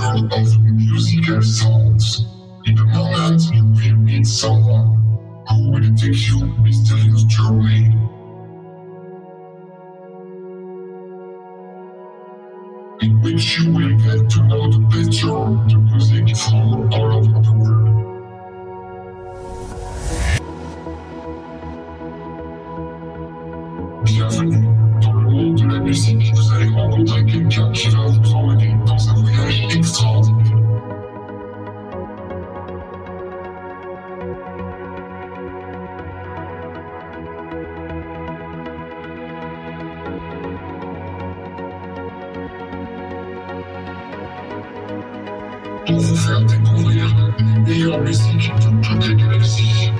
world of musical sounds. In a moment you will meet someone who will take you on a mysterious journey. In which you will get to know the better the music from all over the world. Bienvenue dans le monde de la musique. Vous allez rencontrer quelqu'un qui va vous emmener dans un voyage extraordinaire. Pour vous faire découvrir les meilleures musiques de toutes les galaxies.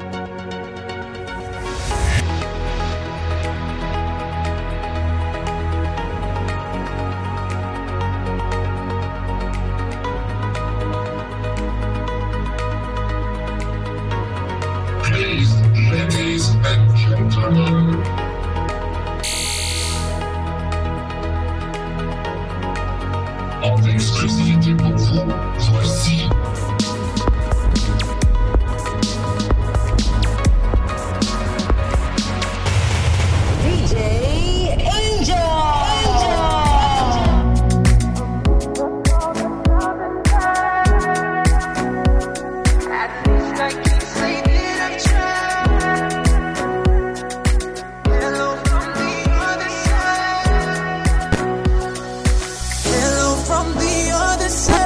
Please, ladies and gentlemen. En exclusivité pour vous, voici DJ Angel. At least I can say that I've tried. Hello from the other side. Hello from the other side.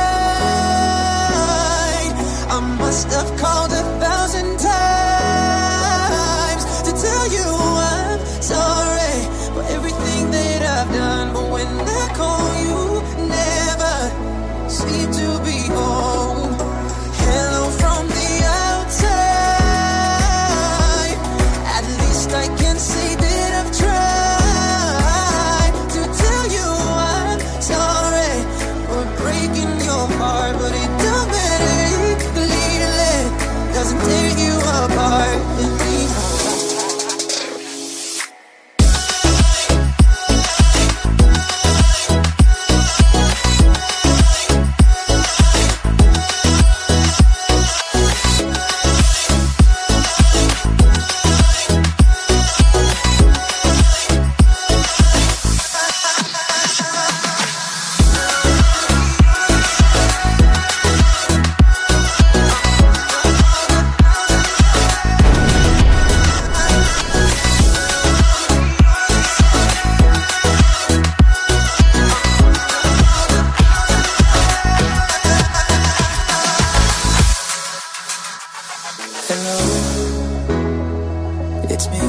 I must have called 1,000 times to tell you I'm sorry for everything that I've done. But when I call you, never seem to be home. Hello from the outside. At least I can say that I've tried to tell you I'm sorry for breaking your heart. But it don't matter, believe it doesn't tear you apart anymore. Hello, it's me.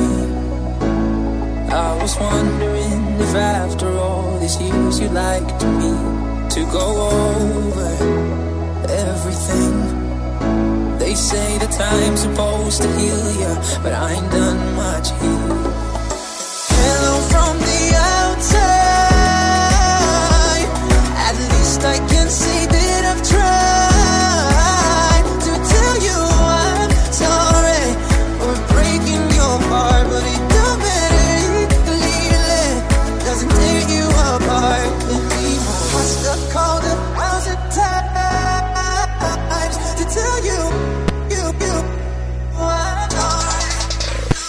I was wondering if after all these years you'd like me to go over everything. They say that time's supposed to heal ya, but I ain't done much here. Hello from the outside. At least I can say that I've tried to tell you I'm sorry for breaking your heart. But it don't matter, believe it doesn't tear you apart anymore. Must have called 1,000 times to tell you I'm sorry.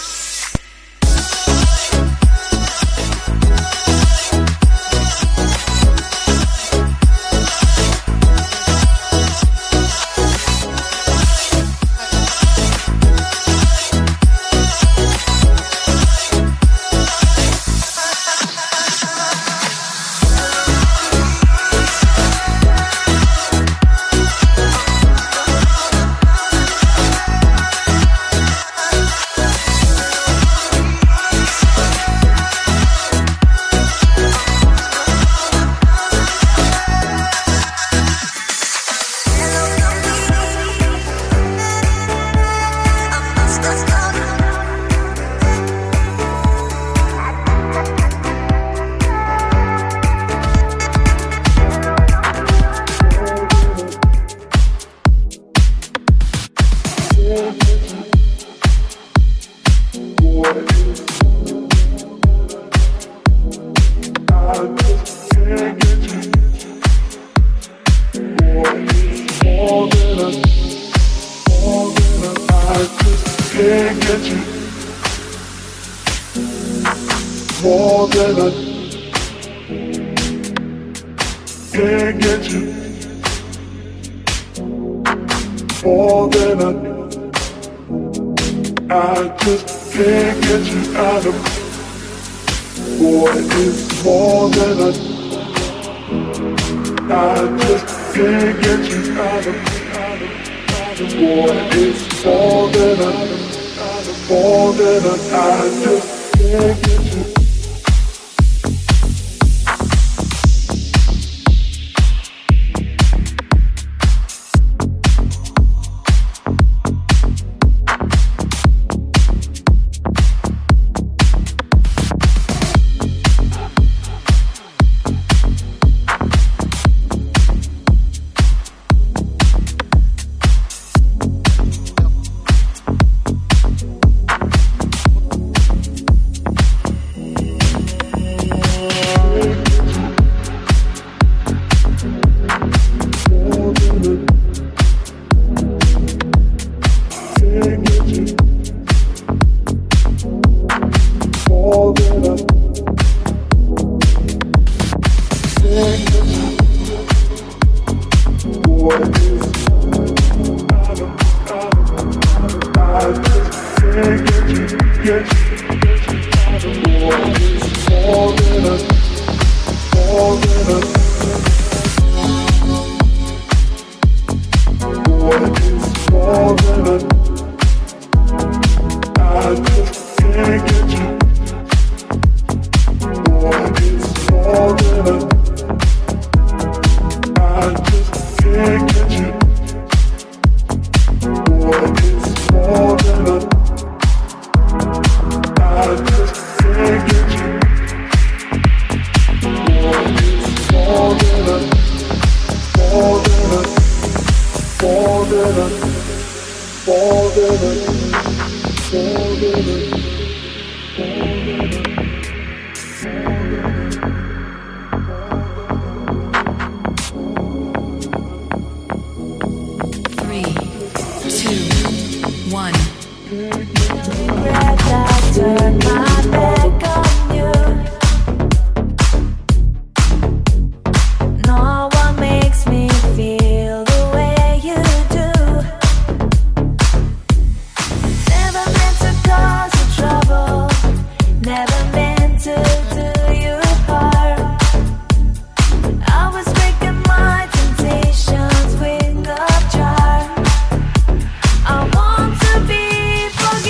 I want to be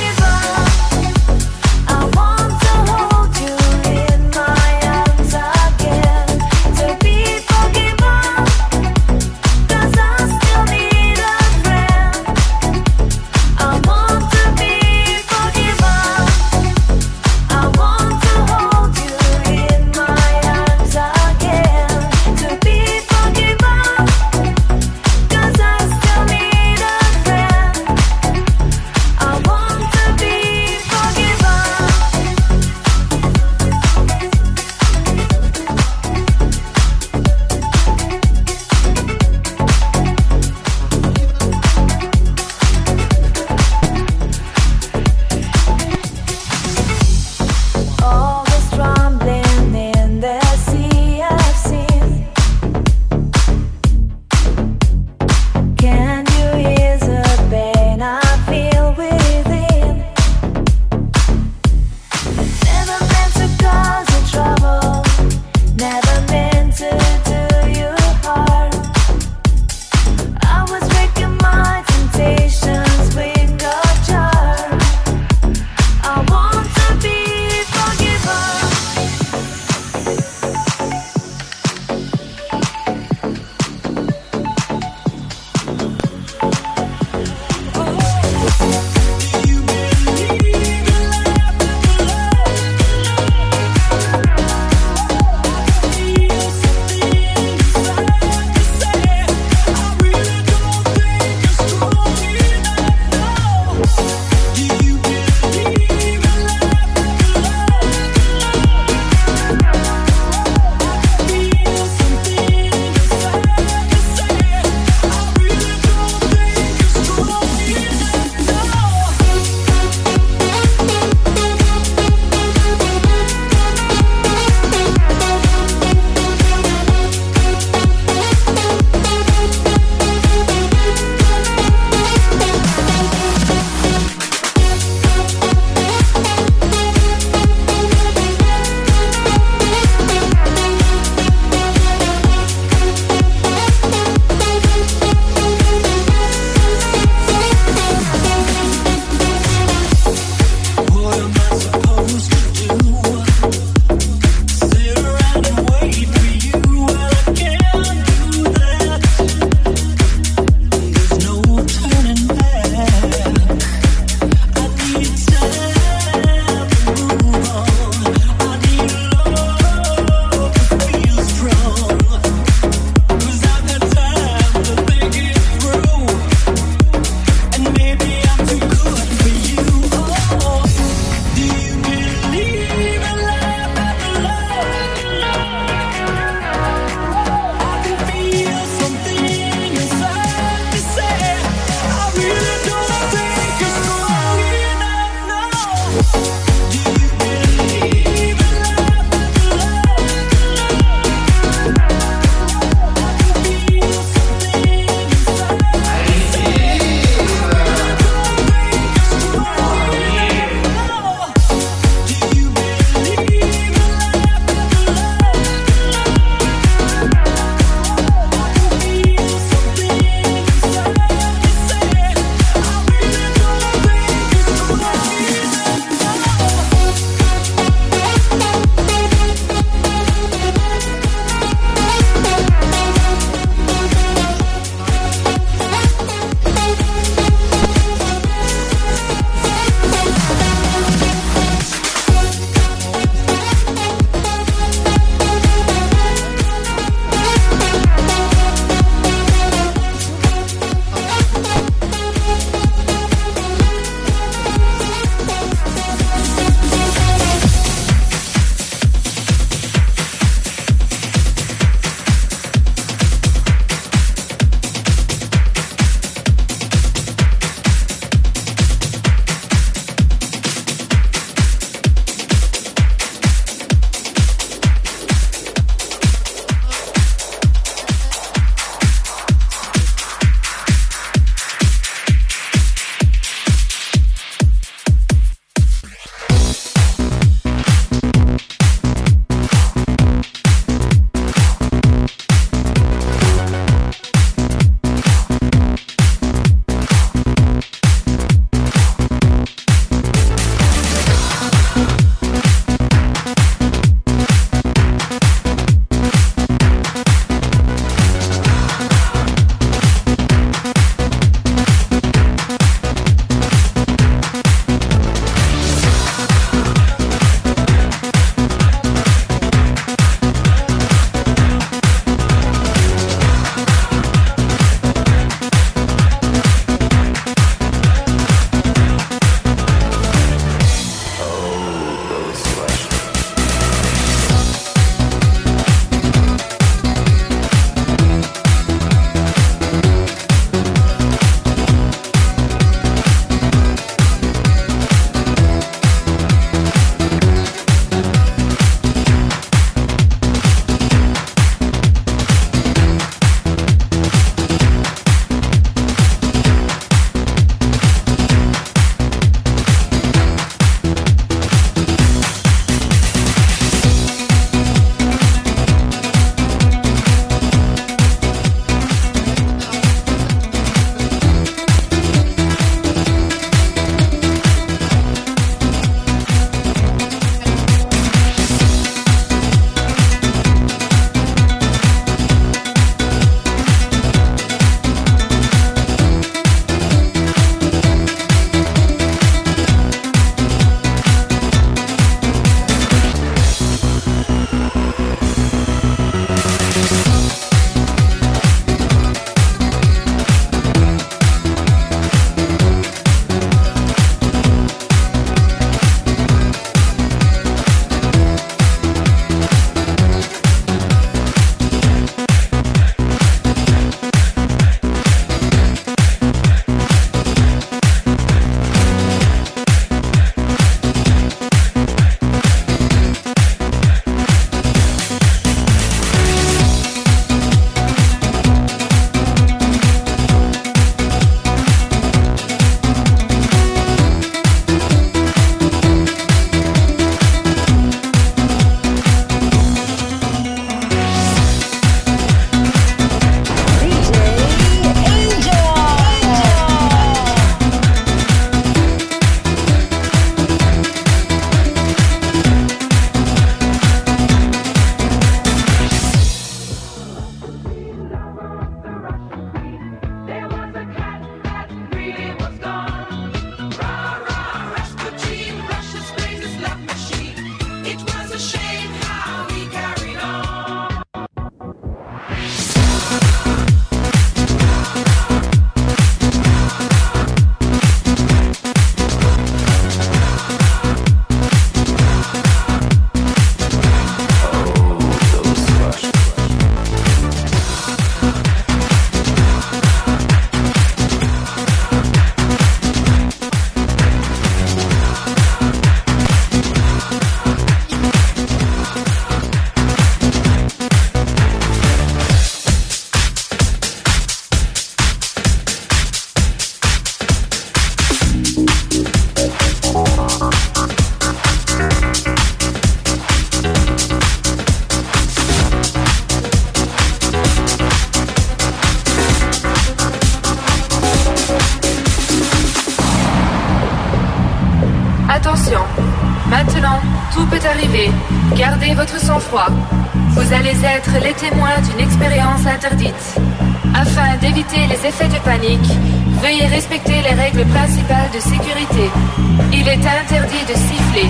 Attention, maintenant, tout peut arriver. Gardez votre sang-froid. Vous allez être les témoins d'une expérience interdite. Afin d'éviter les effets de panique, veuillez respecter les règles principales de sécurité. Il est interdit de siffler.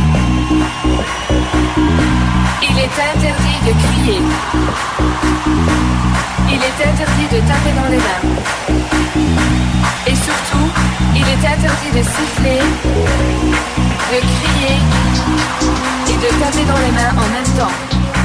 Il est interdit de crier. Il est interdit de taper dans les mains. Et surtout, il est interdit de siffler, de crier et de taper dans les mains en même temps.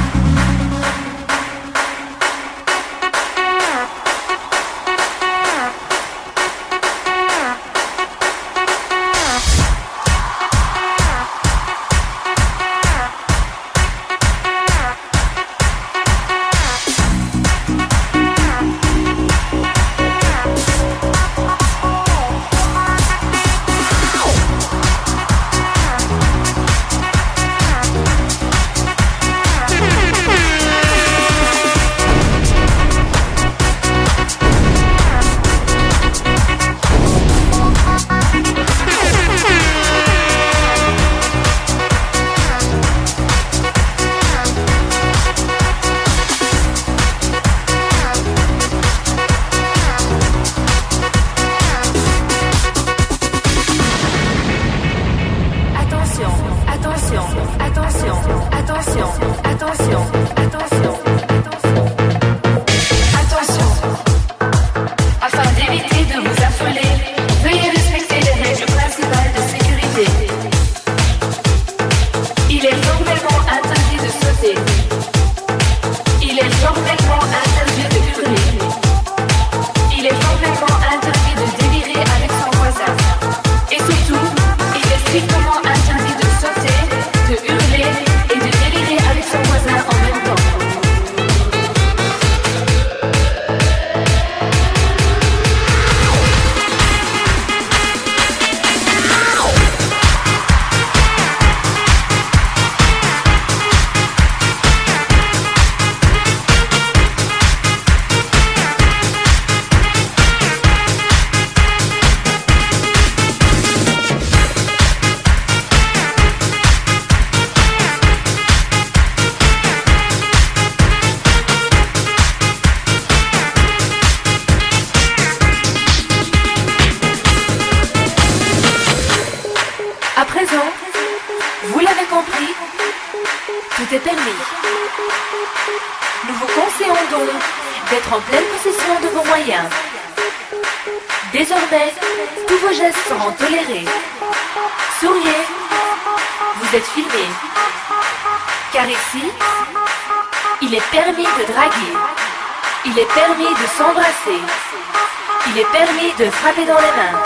De frapper dans les mains.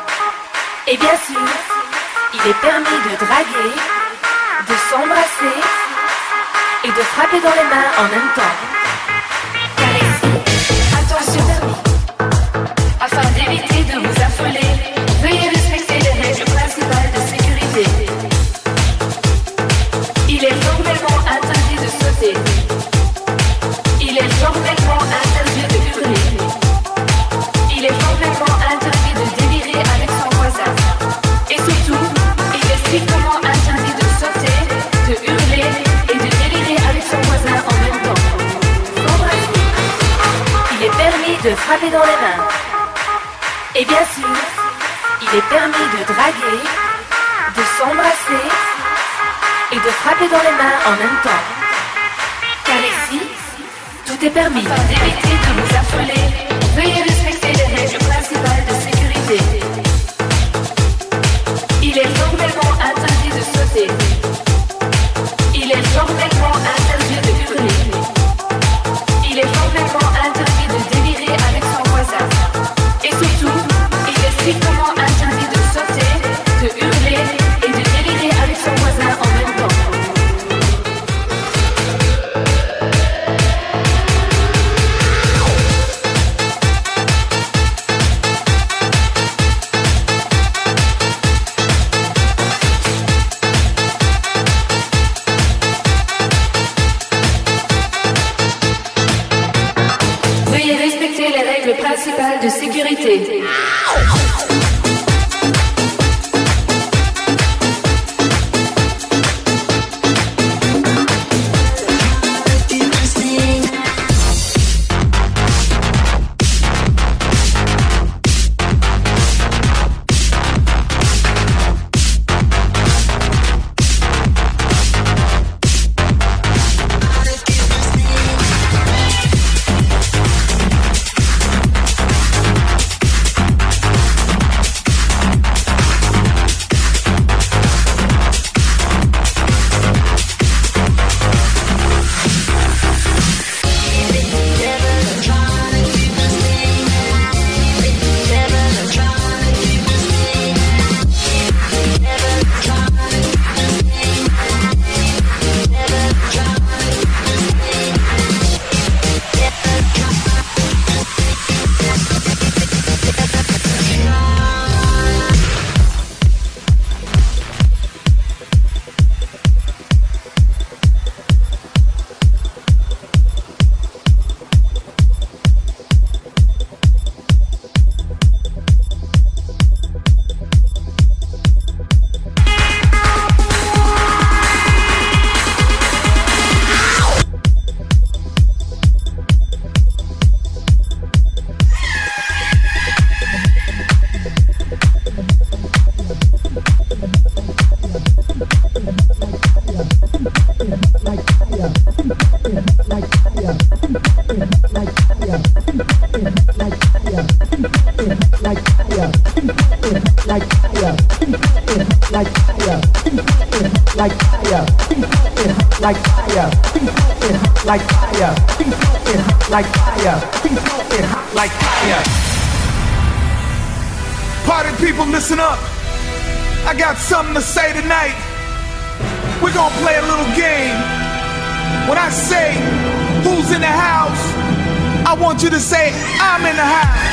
Et bien sûr, il est permis de draguer, de s'embrasser et de frapper dans les mains en même temps. Car ici, attention, afin d'éviter de vous affoler, veuillez respecter les règles principales de sécurité. Il est formellement interdit de sauter. Il est formellement interdit de hurler. Il est formellement interdit de délirer avec son voisin. Et surtout, il est strictement interdit de sauter, de hurler et de délirer avec son voisin en même temps. Il est permis de frapper dans les mains. Et bien sûr, il est permis de draguer, de s'embrasser et de frapper dans les mains en même temps. Car ici, tout est permis. Afin d'éviter de vous affoler, veuillez respecter les règles principales de sécurité. Il est formellement interdit de sauter. Il est formellement interdit de hurler. Il est formellement interdit de délirer avec son voisin. Et surtout, il est strictement interdit de sauter, de hurler et de délirer avec son voisin en même temps. Principale de sécurité. Party people, listen up. I got something to say tonight. We're gonna play a little game. When I say who's in the house, I want you to say I'm in the house.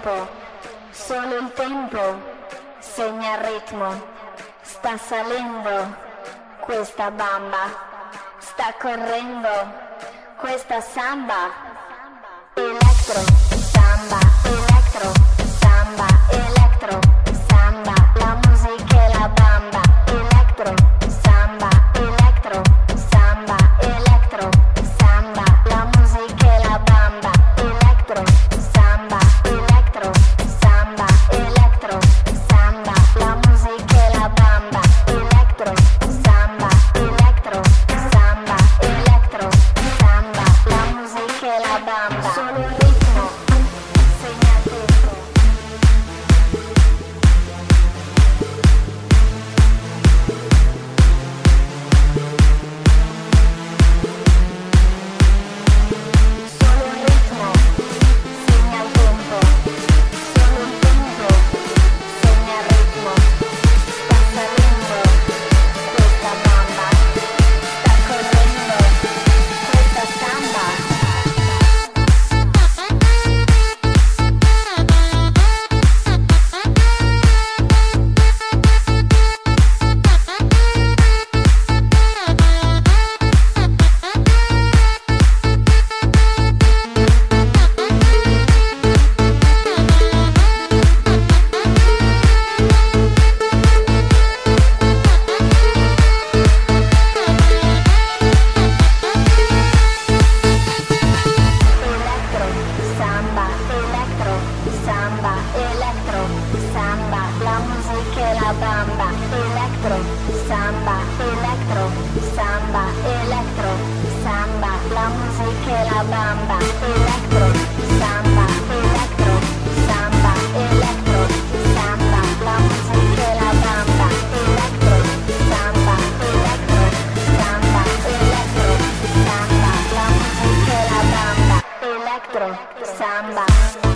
tempo, solo il tempo segna il ritmo. Sta salendo questa bamba, sta correndo questa samba. Electro, samba, electro, samba, electro, samba. La musica e la bamba. Electro, samba, electro, samba, electro, samba. La musica e la bamba. Electro, samba, electro, samba, electro, samba. La musica e la bamba. Electro, samba, electro, samba, electro, samba. La musica e la bamba. Solo il ritmo segna il tempo. Solo il ritmo segna il tempo. Solo il tempo segna il ritmo. Sta salendo questa bamba, sta correndo questa samba. Electro, samba, electro, samba, electro, samba. La musica e la bamba. Electro, samba, electro, samba, electro, samba. La musica e la bamba. Electro, samba, electro, samba, electro, samba. La musica e la bamba. Electro, samba, electro, samba, electro, samba. La musica e la bamba. Electro, samba.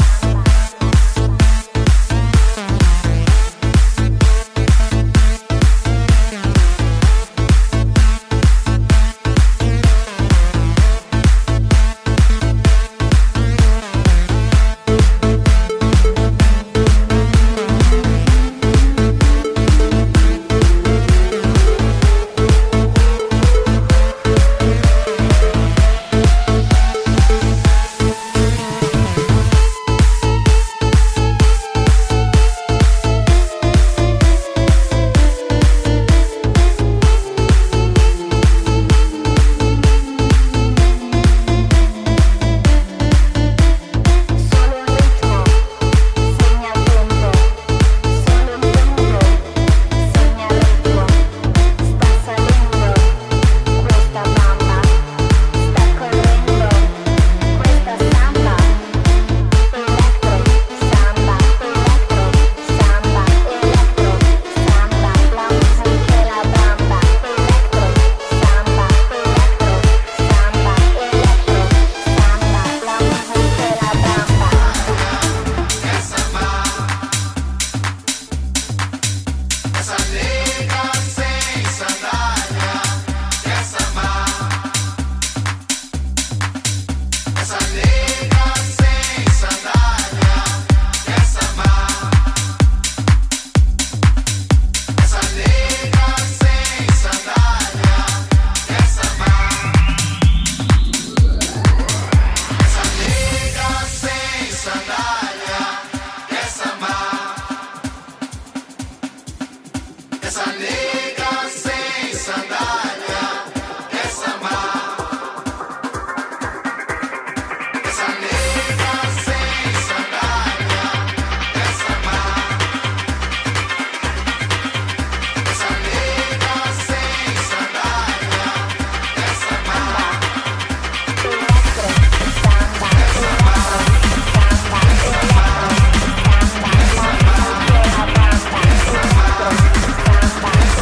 Solo il ritmo segna il tempo. Solo il tempo segna il ritmo. Sta salendo questa bamba, sta correndo questa samba. Electro, samba, electro, samba, electro, samba. La musica e la bamba. Electro, samba, electro, samba, electro, samba. La musica e la bamba. Essa nega sem sandália, essa má. Essa nega sem sandália, essa má. Essa nega sem sandália, essa má. Essa nega sem sandália, essa má. Essa nega sem sandália, essa má. Essa nega sem sandália, essa má. Essa nega sem sandália, essa má. Electro, samba, electro, samba, electro, samba. La musica e la bamba. Electro, samba,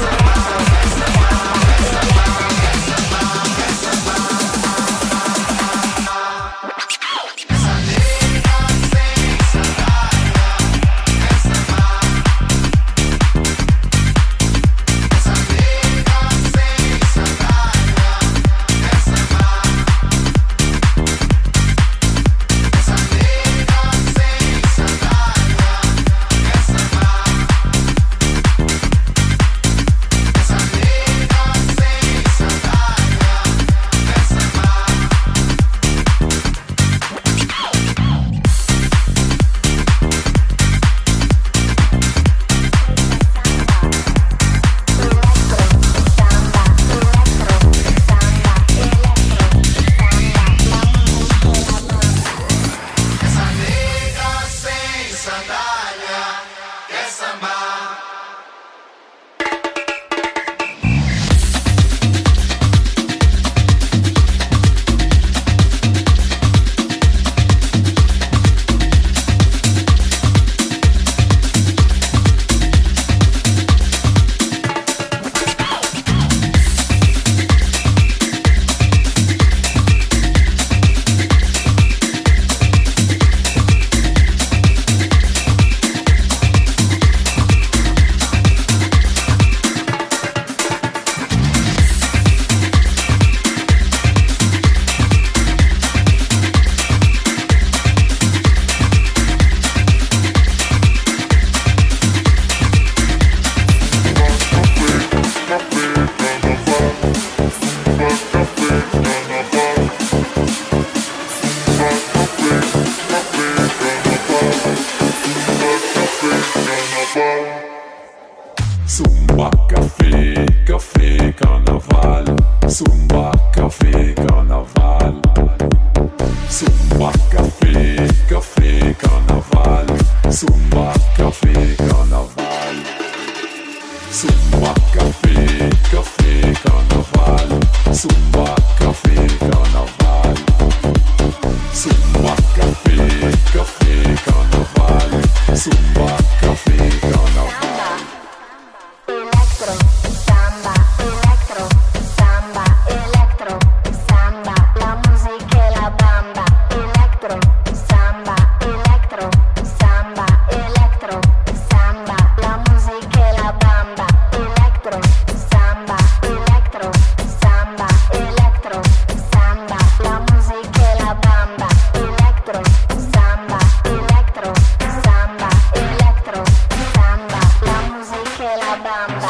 Zumba, café, café, carnaval. Zumba, café, carnaval. Zumba, café, café, carnaval. Zumba, café, carnaval. Zumba, café, café, carnaval. Zumba, café, carnaval. Zumba, café, café, carnaval. Zumba, café, carnaval. Electro, samba, electro, samba, electro, samba, la musica e la bamba. Electro, samba, electro, samba, electro, samba, la musica e la bamba. Electro, samba, electro, samba, electro, samba, la musica e la bamba. Electro, samba, electro, samba, electro, samba, la musica e la bamba.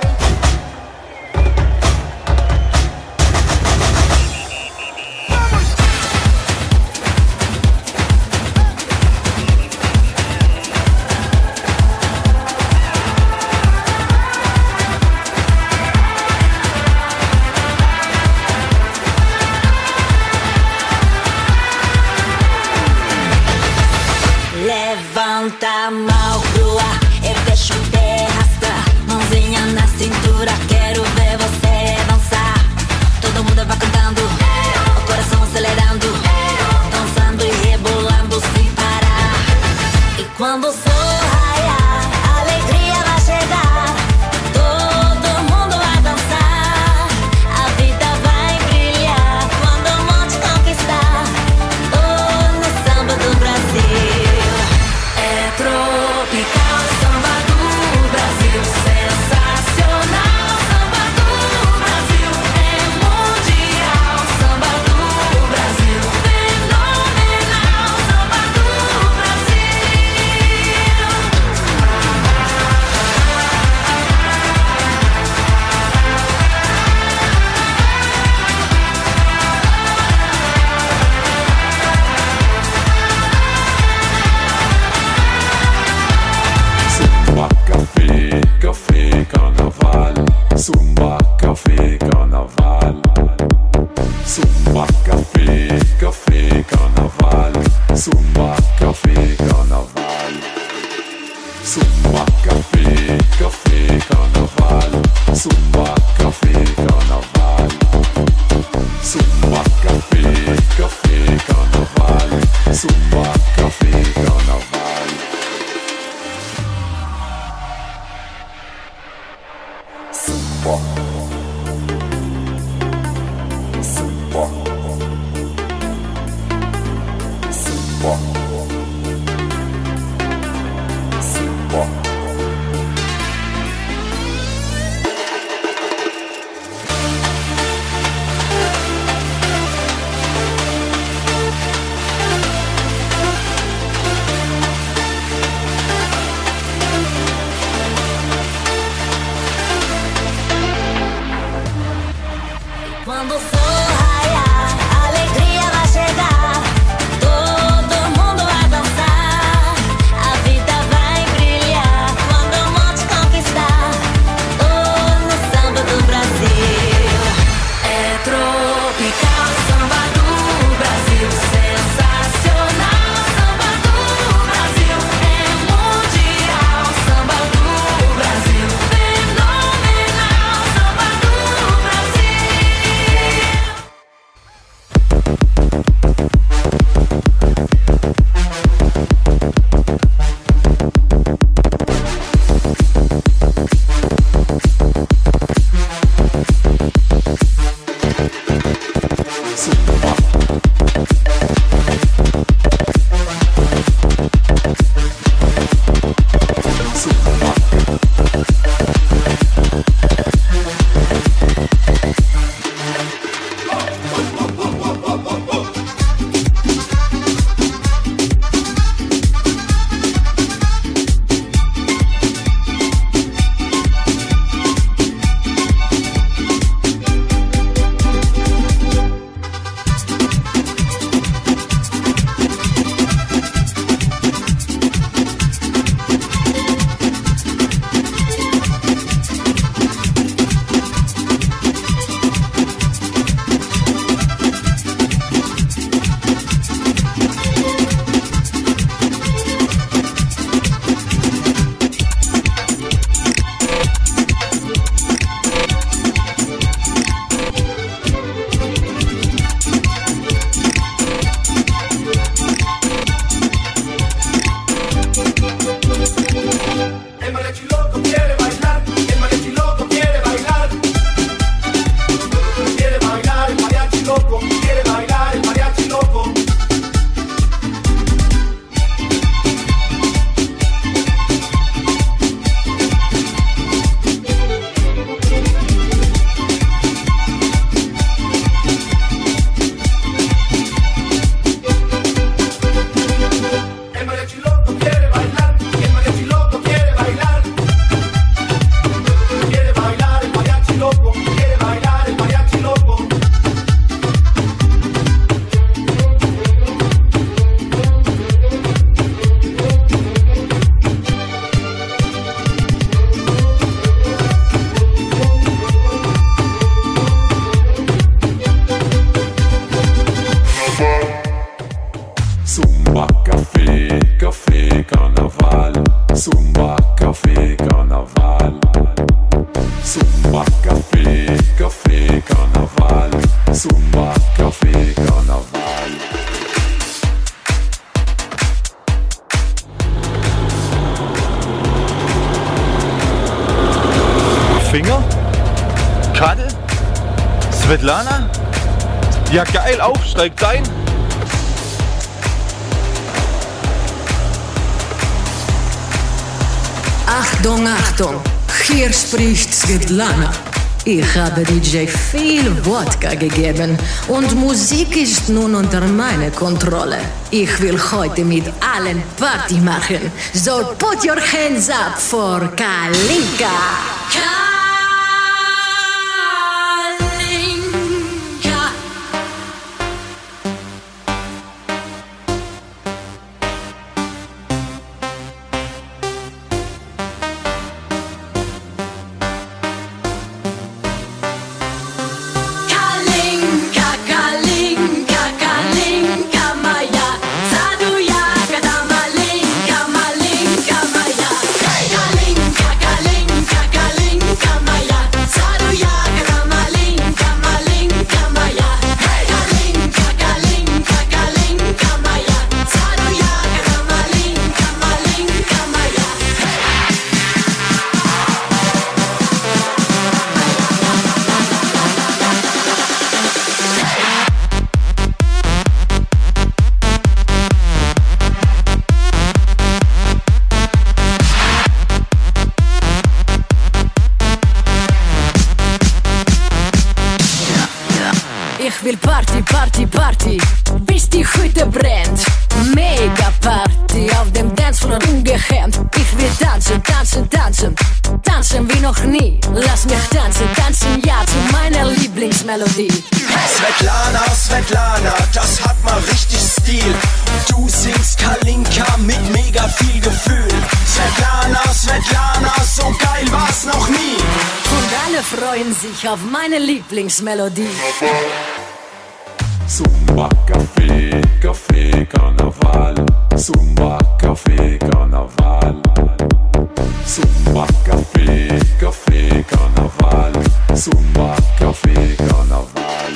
Levanta a mão pro ar e deixa o pé arrastar. Mãozinha na cintura, quero ver você dançar. Todo mundo vai cantando, o coração acelerando, dançando e rebolando sem parar. E quando o sol raiar, a alegria vai chegar. Todo mundo vai dançar, a vida vai brilhar. Quando o monte conquistar, no samba do Brasil. É tropical, samba do Brasil, sensacional, samba do Brasil, é mundial, samba do Brasil, fenomenal, samba do Brasil. Zumba, café, café, carnaval. Zumba, café, carnaval. Zumba, café, café, carnaval. Zumba, café, carnaval. Zumba, café, café, carnaval. Zumba, café, carnaval. Zumba, café, café, carnaval. Zumba, café, carnaval. Zumba. Zumba. Zumba. Zumba. Finger? Kadel? Svetlana? Ja geil, auf, steigt ein. Achtung, Achtung, hier spricht Svetlana. Ich habe DJ viel Wodka gegeben und Musik ist nun unter meiner Kontrolle. Ich will heute mit allen Party machen. So put your hands up for Kalinka. Ich will Party, Party, Party, bis die Hütte brennt. Mega Party auf dem Dancefloor ungehemmt. Ich will tanzen, tanzen, tanzen, tanzen wie noch nie. Lass mich tanzen, tanzen ja zu meiner Lieblingsmelodie. Svetlana, Svetlana, das hat mal richtig Stil. Du singst Kalinka mit mega viel Gefühl. Svetlana, Svetlana, so geil war's noch nie. Und alle freuen sich auf meine Lieblingsmelodie. Zumba, Café, Café, Karneval. Zumba, Café, Karneval. Zumba, Café, Café, Karneval. Zumba, Café, Karneval.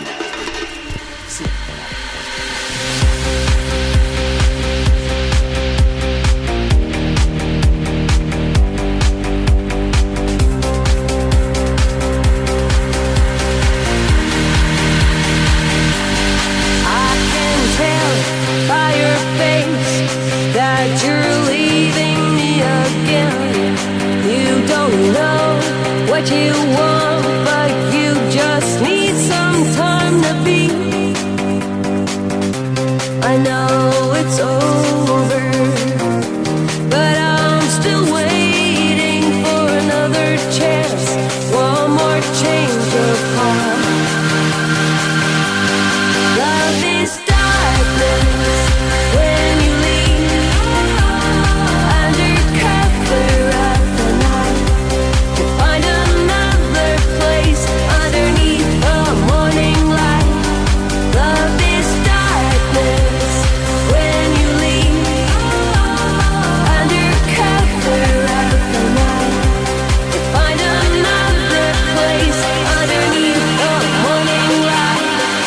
What you want, but you just need some time to be. I know it's over, but I'm still waiting for another chance, one more change of heart. Love is darkness when you leave, under cover of the night. Find another place underneath the morning light. Love is darkness when you leave, under cover of the night. Find another place underneath the morning light.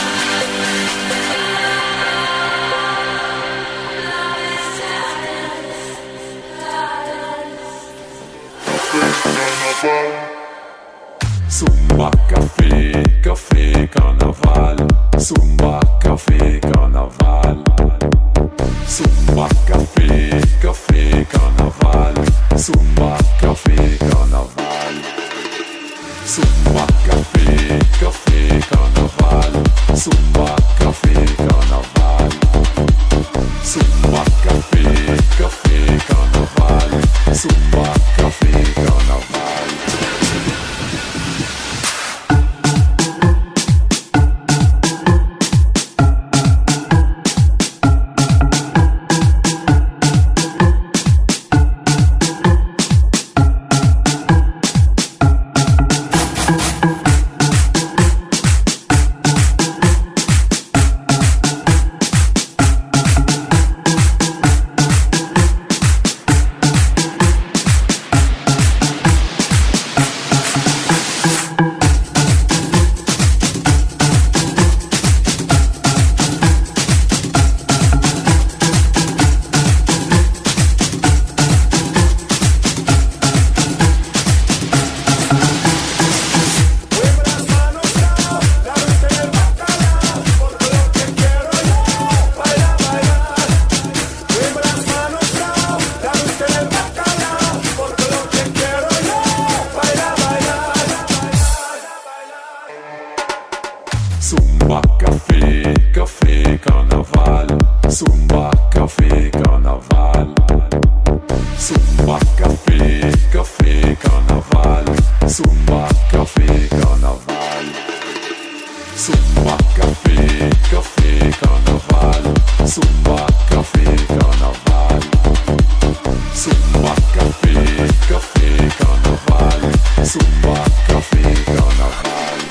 Zumba, Café, Café, Karneval. Zumba, Café, Karneval. Zumba, Café, Café, Karneval. Zumba, Café, Karneval. Zumba, Café, Café, Karneval. Zumba, Café, Karneval. Zumba, Café, Café, Karneval. Zumba, Café, Karneval. Zumba, café, carnaval. Zumba, café, café, carnaval. Zumba, café, carnaval. Zumba, café, café, carnaval. Zumba, café, carnaval. Zumba, café, café, carnaval. Zumba, café, carnaval.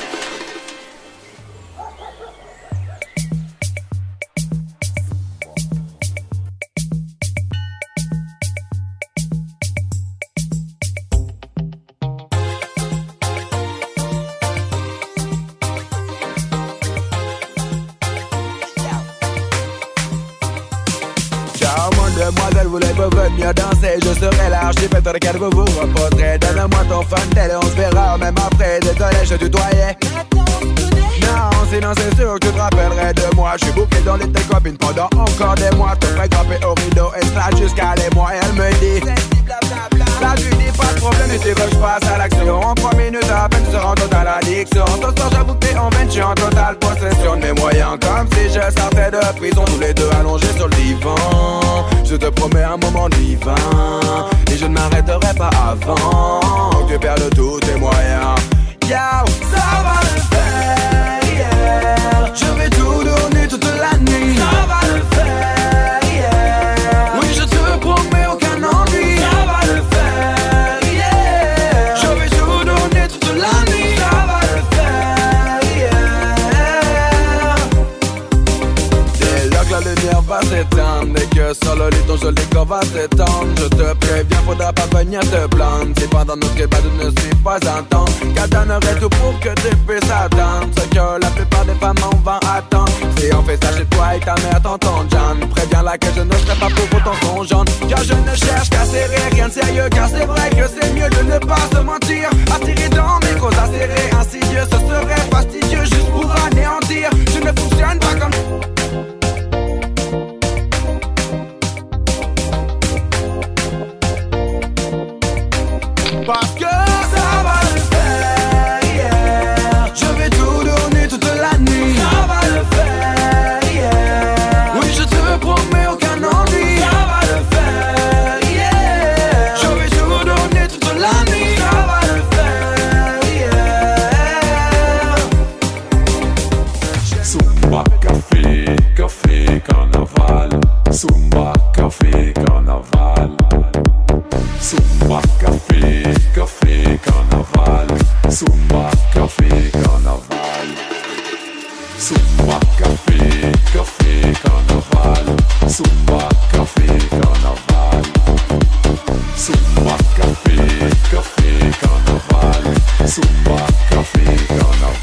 Demoiselle, voulez-vous venir danser? Je serai l'archipel dans lequel vous vous reposerez. Donne-moi ton funtel et on se verra même après. Désolé, je tutoyais. Non, sinon c'est sûr que tu te rappellerais de moi. Je suis bouclé dans les tes copines pendant encore des mois. Te ferai grimper au rideau et slide jusqu'à les mois. Et elle me dit là tu dis pas de problème et tu veux que je passe à l'action. En 3 minutes à peine tu seras en totale addiction. Ce soir j'avoue que t'es en veine, je suis en totale possession de mes moyens. Comme si je sortais de prison, tous les deux allongés sur le divan. Je te promets un moment divin et je ne m'arrêterai pas avant que tu perdes tous tes moyens. Yo, ça va le faire, yeah. Je vais tout donner toute la nuit. Ça va le faire, yeah. Oui, je te promets aucun ennui. Ça va le faire, yeah. Je vais tout donner toute la nuit. Ça va le faire, yeah. Dès lors que la lumière va s'éteindre et que sur le lit ton joli corps va s'étendre, je te préviens, faudra pas venir te plaindre. Si pendant notre débat tu ne suis pas intense, car donnerai tout pour que tu puisses atteindre ce que la plupart des femmes en vont attendre. Si on fait ça chez toi et ta mère t'entend, John, préviens-la que je ne serai pas pour autant son genre. Car je ne cherche qu'à serrer, rien de sérieux, car c'est vrai que c'est mieux de ne pas se mentir. Attirer dans mes causes acérées, insidieux, ce serait fastidieux juste pour anéantir. Je ne fonctionne pas comme... Parce que ça va le faire, yeah. Je vais tout donner toute la nuit. Ça va le faire, yeah. Oui, je te promets aucun ennui. Ça va le faire, yeah. Je vais tout donner toute la nuit. Ça va le faire, yeah. Zumba, café, café, carnaval. Zumba, café, carnaval. Zumba, café, café, carnaval. Zumba, café, carnaval. Zumba, café, café, carnaval. Zumba, café, carnaval. Zumba, café, café, carnaval. Zumba, café, carnaval.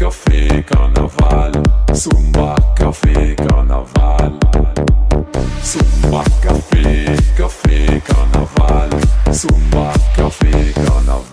café, carnaval. Zumba, café, carnaval. Zumba, café, café, carnaval. Zumba, café, carnaval.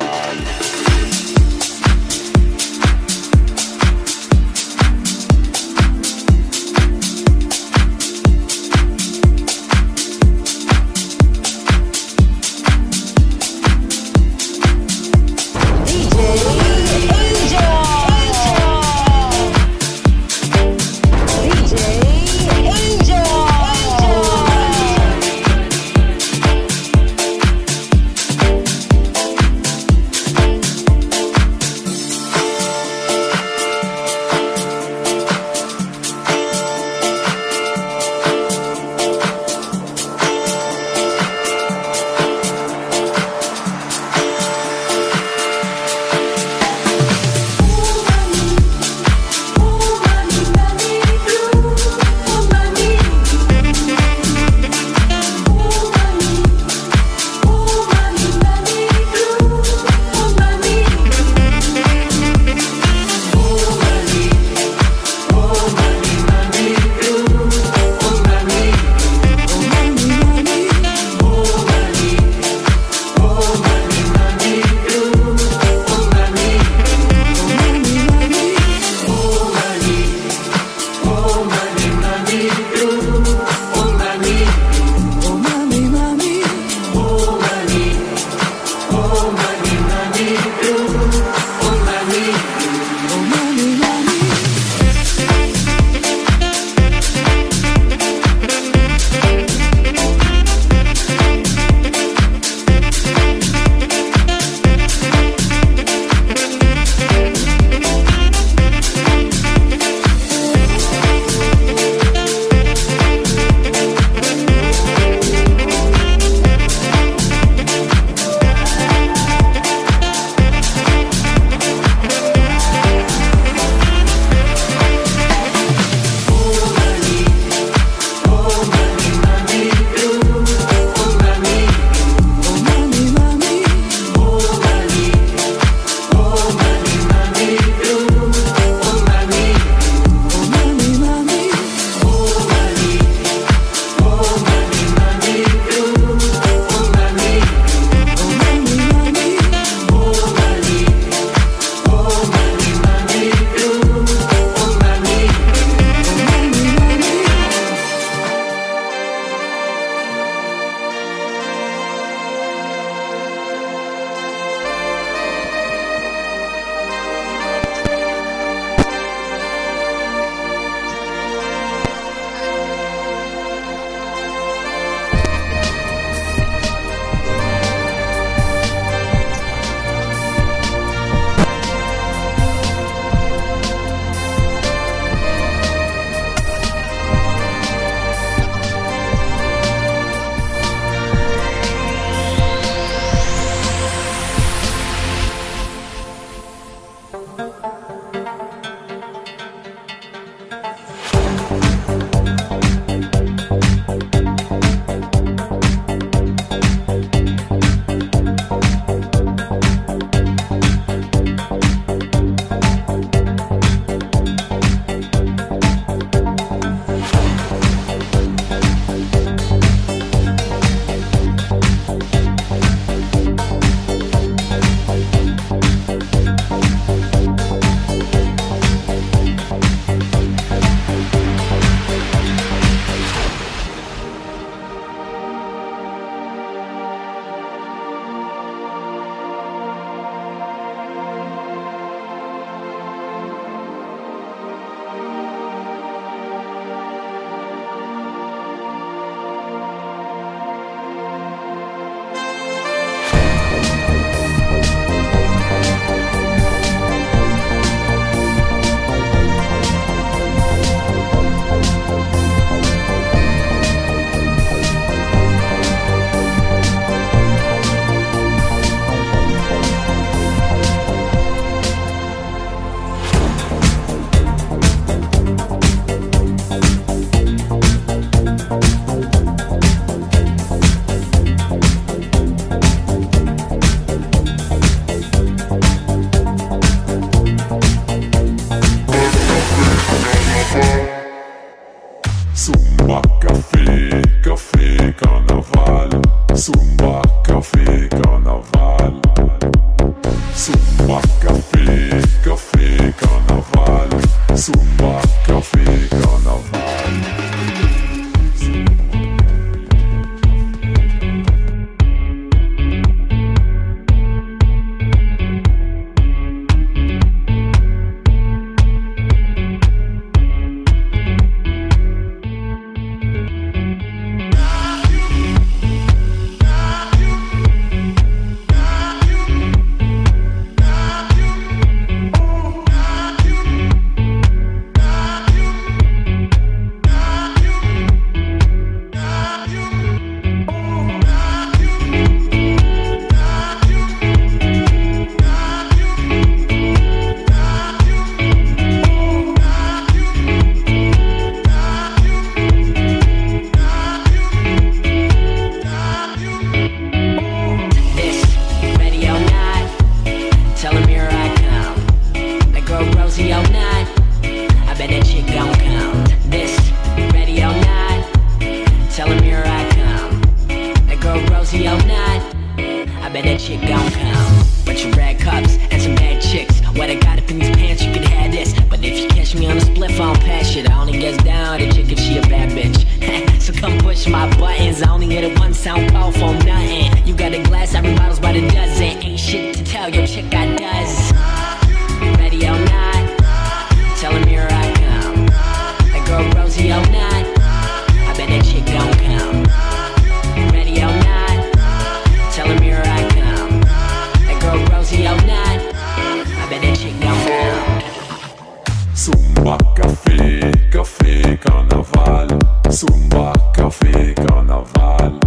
bet that chick gon' come. Bunch of red cups and some bad chicks. What I got up in these pants, you could have this. But if you catch me on a spliff, I don't pass shit. I only gets down to chick if she a bad bitch. So come push my buttons. I only hit it once, I don't call for nothing. You got a glass, every bottle's by the dozen. Ain't shit to tell your chick I does. Ready or not, tell him here I come. That girl Rosie or not, I bet that chick gon' come. Ready or not, tell him here I come. That girl Rosie or not, I bet that chick gon' come. Zumba, café, café, carnaval. Zumba, café, carnaval.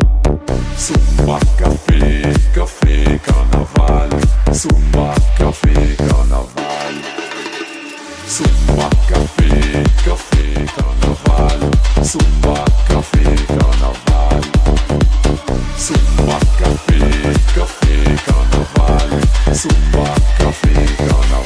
Zumba, café, café, carnaval. Zumba, café, carnaval. Zumba, café, café, carnaval. Zumba, café, carnaval. Zumba, café, café, carnaval. Zumba, café, carnaval.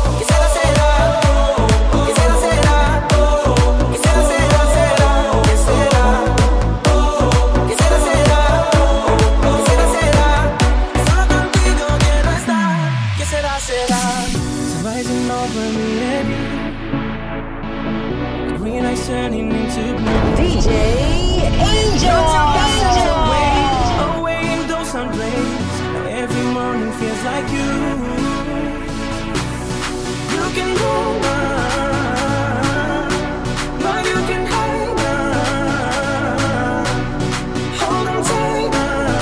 Que será, DJ Angel. Away in those sun rays, every morning feels like you can go on, but you can hang on. Hold on tight,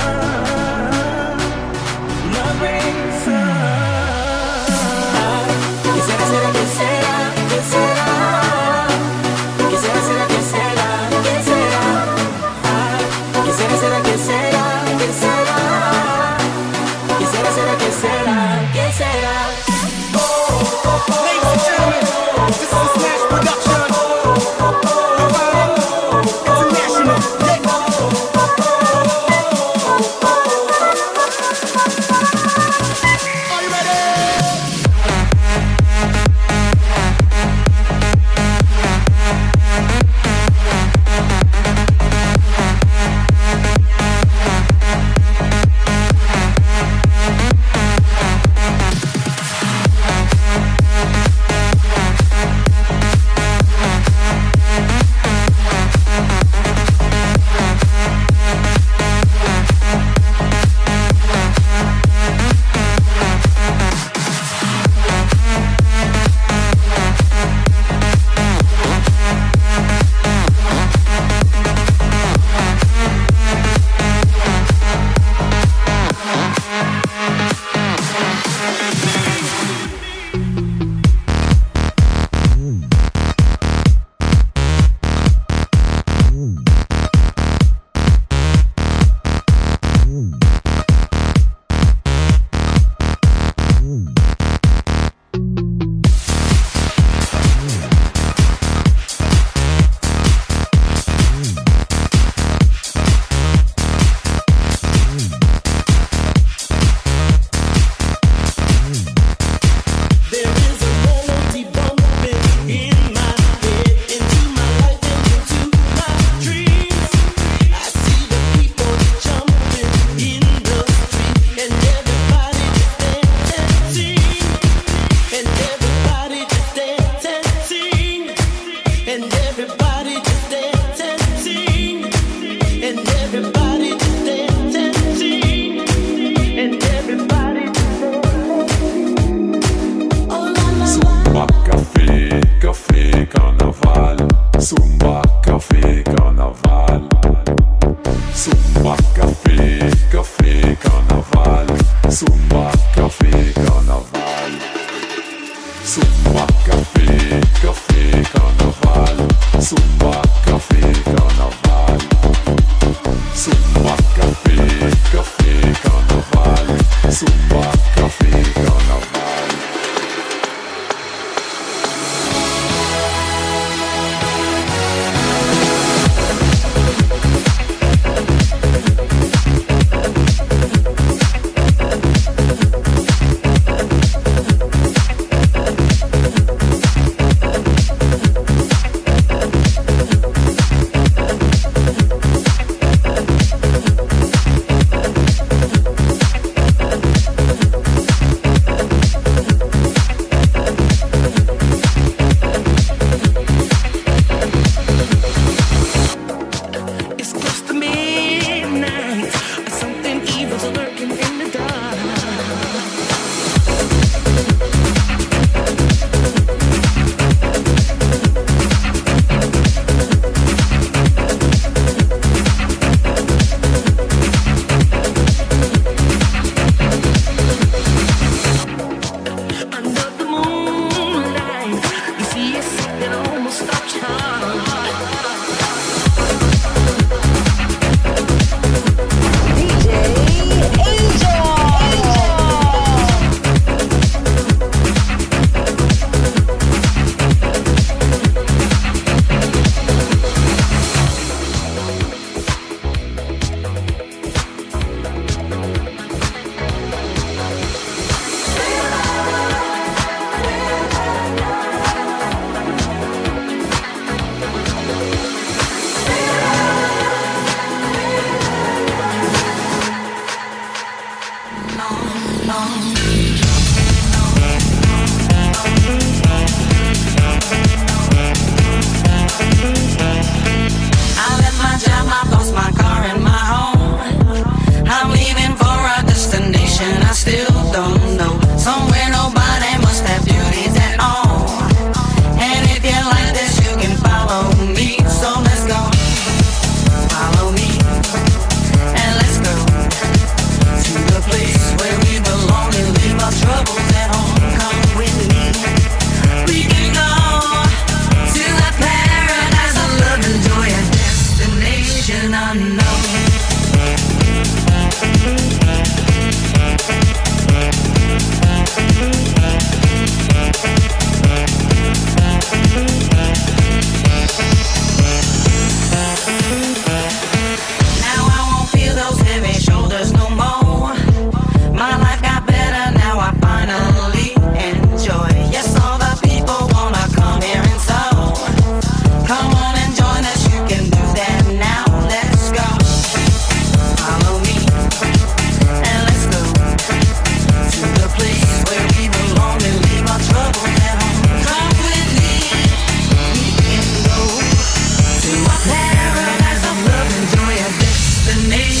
love rains on. Quisiera ser que será, que será. Quisiera ser que será, que será. Quisiera ser que será, que será. Quisiera ser que será, que será. Ladies and gentlemen, this is a Smash production. International. Are you ready?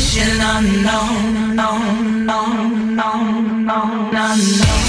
destination unknown, known, known, known, known, unknown.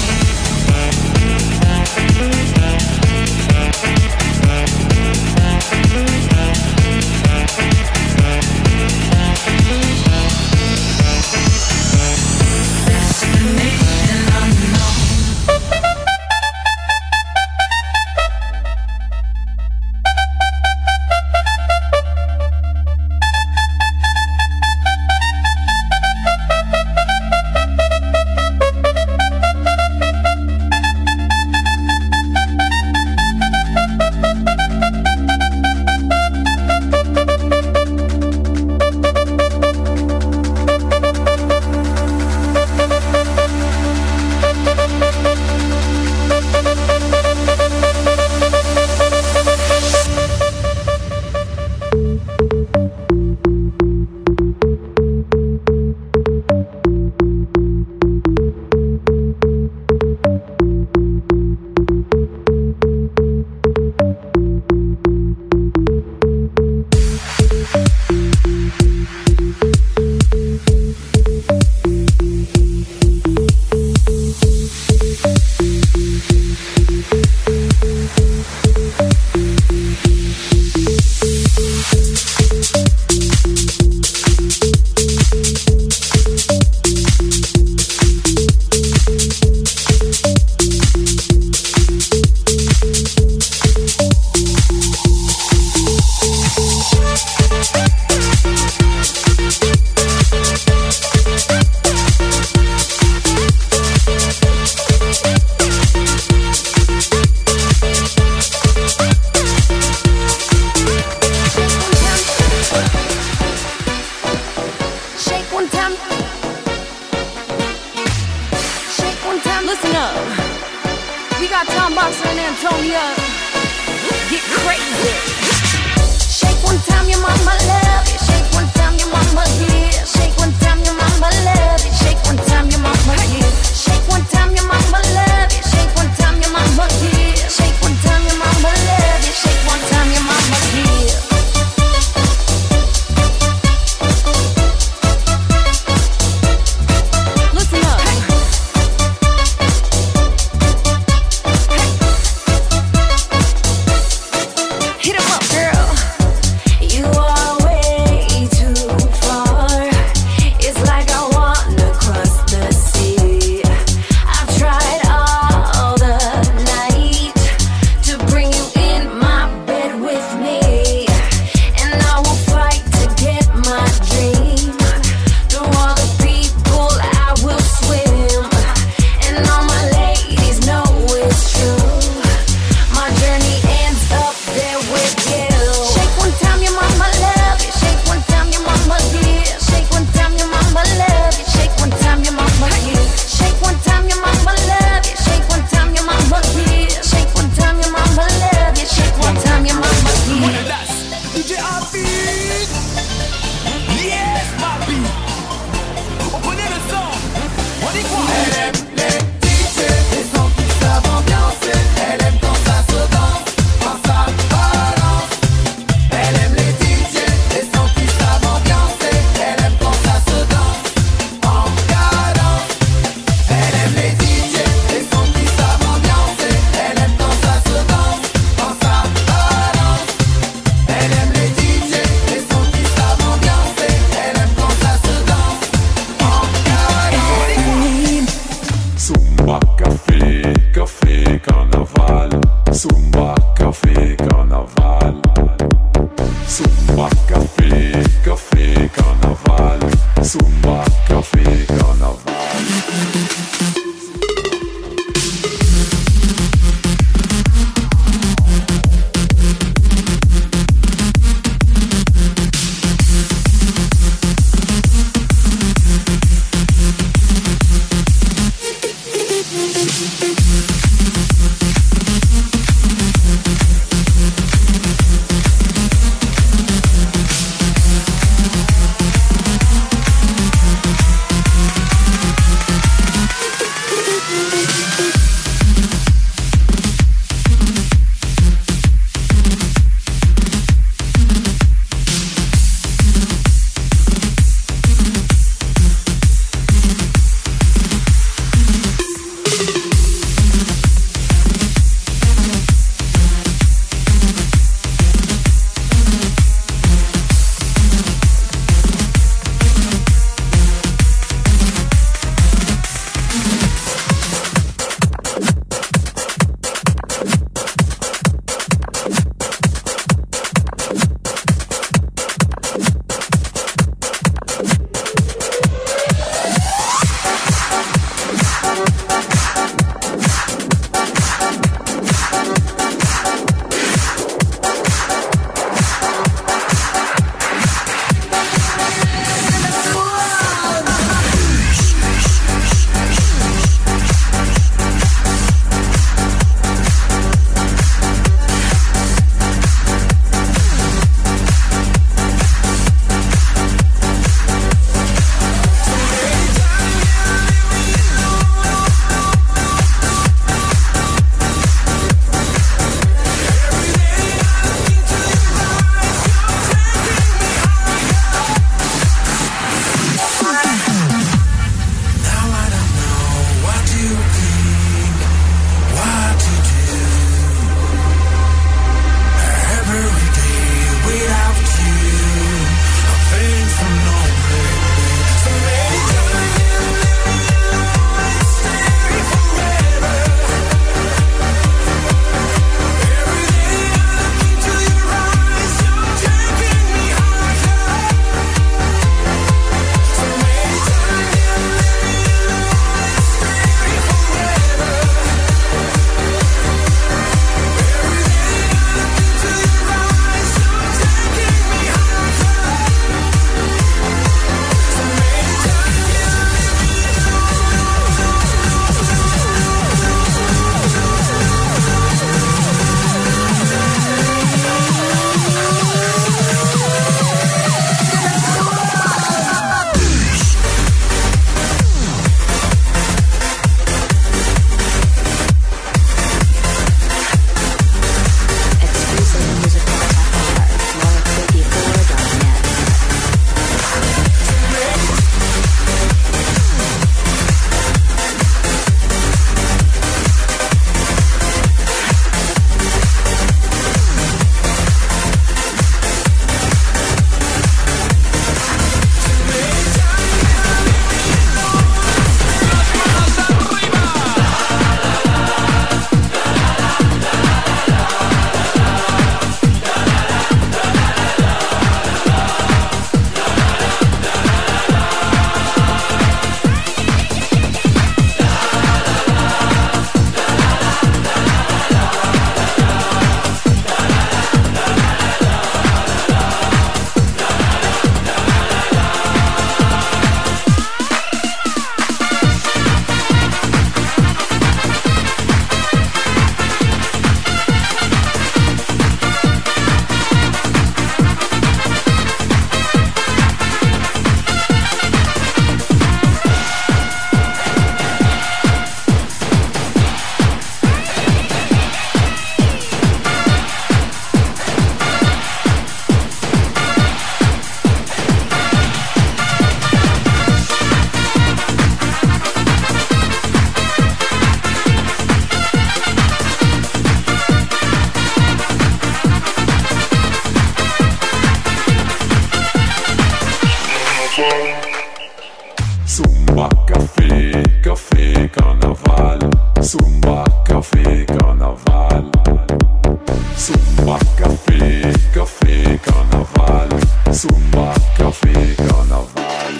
Zumba, café, carnaval.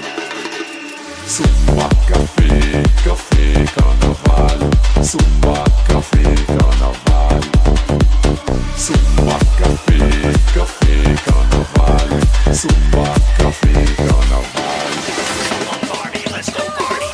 Zumba, café, café, carnaval. Zumba, café, carnaval. Zumba, café, café, carnaval. Zumba, café, carnaval. Party, let's go party.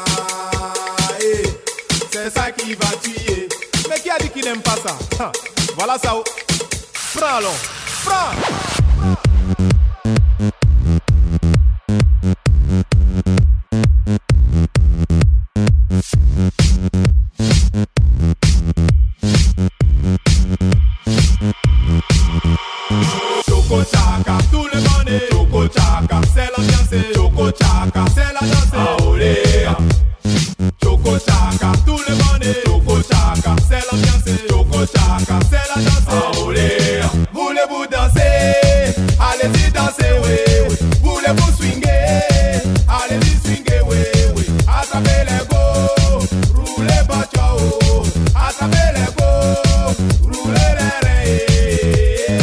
c'est ça qui va tuer. Mais qui a dit qu'il n'aime pas ça? Voilà ça. Prends-le. Prends. Choco Chaka, tout le monde est Choco Chaka, c'est l'ambiance, Choco Chaka, c'est la danse, aolé. Choco Chaka, tout le monde est Choco Chaka, c'est l'ambiance, Choco Chaka, c'est la danse, aolé. Voulez-vous danser? Allez-y danser, oui, oui. Voulez-vous swinguer? Allez-y swinguer, oui, oui. Attrapez les go, roulez pas ciao. Attrapez les go, roulez les reins.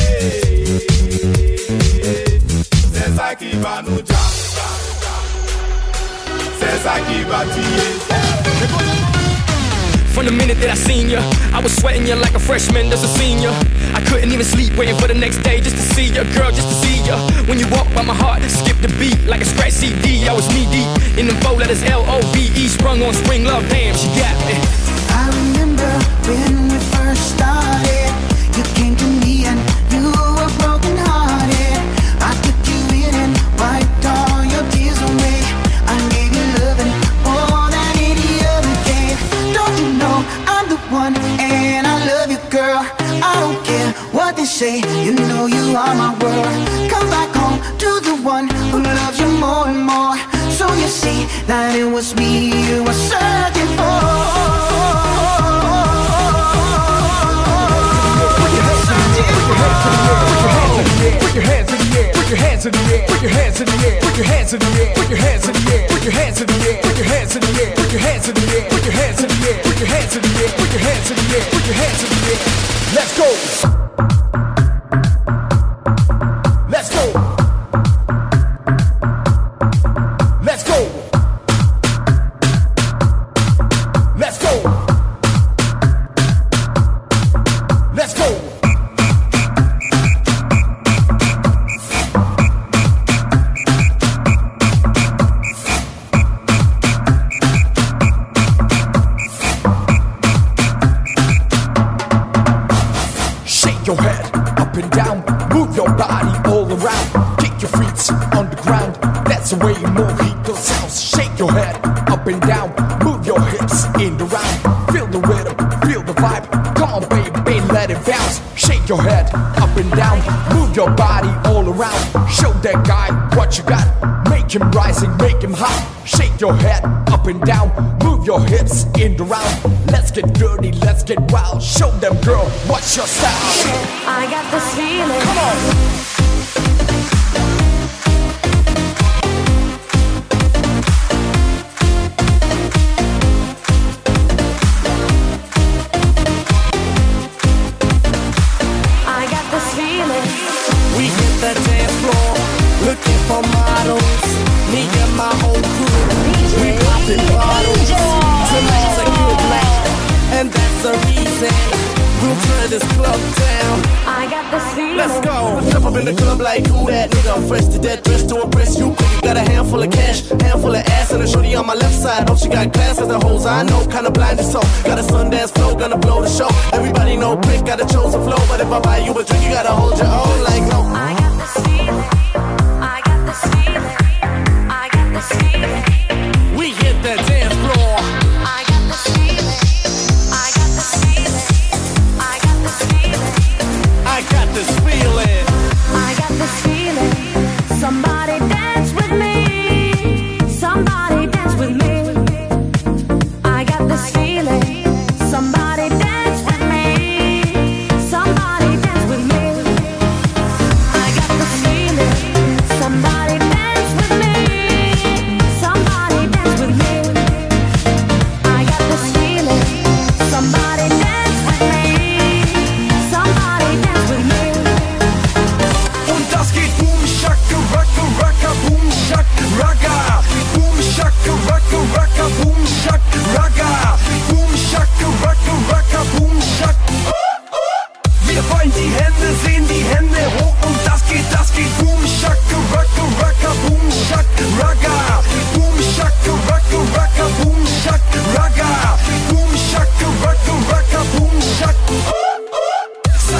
C'est ça qui va nous jam. C'est ça qui va tuer. From the minute that I seen you, I was sweating you like a freshman that's a senior. I couldn't even sleep, waiting for the next day just to see you, girl, just to see you. When you walk by my heart, skip the beat like a scratch CD. I was knee deep in them 4 letters L-O-V-E, sprung on spring love, damn, she got me. I remember when we first started. You came to me and you were broken hearted. I took you in and wiped all your tears away. I gave you loving more than any other gave. Don't you know I'm the one and I love you, girl. I don't care what they say, you know you are my world. Come back home to the one who loves you more and more. So you see that it was me you were searching for. Put your hands in the air, put your hands in the air, put your hands in the air, put your hands in the air, put your hands in the air, put your hands in the air, put your hands in the air, put your hands in the air, put your hands in the air, put your hands in the air, put your hands in the air, put your hands in the air. Let's go. Let's go. Let's go. Let's go. Let's go. Your head up and down, move your body all around. Kick your feet on the ground, that's the way mojito sounds. Shake your head up and down, move your hips in the round. Feel the rhythm, feel the vibe. Come on baby, let it bounce. Shake your head up and down, move your body all around. Show that guy what you got, make him rising, make him hot. Shake your head up and down, move your hips in the round. Let's get dirty, let's get wild. Show them, girl, what's your style? I got this feeling. Come on. I got this feeling. We hit the dance floor, looking for models. Me and my whole crew, we popping bottles. Tonight's a good night, and that's the reason we'll turn this club down. I got this feeling. Let's go. Step up in the club like who that nigga? I'm fresh to death, dressed to impress you. You got a handful of cash, handful of ass, and a shorty on my left side. Hope she got class, cause the hoes I know kinda blinded so. Got a Sundance flow, gonna blow the show. Everybody know Prick got a chosen flow, but if I buy you a drink, you gotta hold your own like no. I got this feeling. I got this feeling. I got this feeling. We hit the dance floor. I got this feeling. I got this feeling. I got this feeling. I got this feeling. I got this feeling. Somebody dance with me. Somebody dance with me. I got this feeling. Somebody dance with me. Somebody dance with me. I got this feeling. Somebody dance with me. Somebody dance with me. I got this feeling. Somebody dance with me. Somebody dance with me. Und das geht boom, shaka, raka, raka, boom, shak, raga. Boom, shaka, raka, raka, boom, shak, raga. Boom, shaka, raka, raka, boom, shak. Wir wollen die Hände sehen, die Hände hoch und das geht boom, shaka, raka, raka, boom, shak, raga. Boom, shaka, raka, raka, boom, shak, raga. Boom, shaka, raka, raka, boom, shak.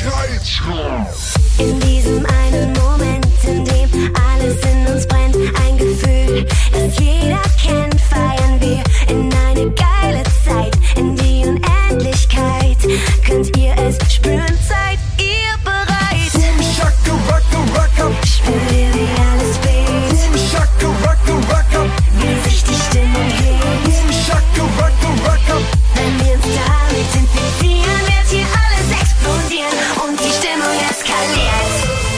In diesem einen Moment, in dem alles in uns brennt, ein Gefühl, das jeder kennt, feiern wir in eine geile Zeit, in die Unendlichkeit. Könnt ihr es spüren? Seid ihr bereit? Boom, shaka, rocka, rocka. Spürt ihr, wie alles weht? Boom, shaka, rocka, rocka. Wie sich die Stimmung hebt? Boom, shaka, rocka, rocka. Wenn wir uns damit infizieren, wird hier alles explodieren und die Stimmung eskaliert.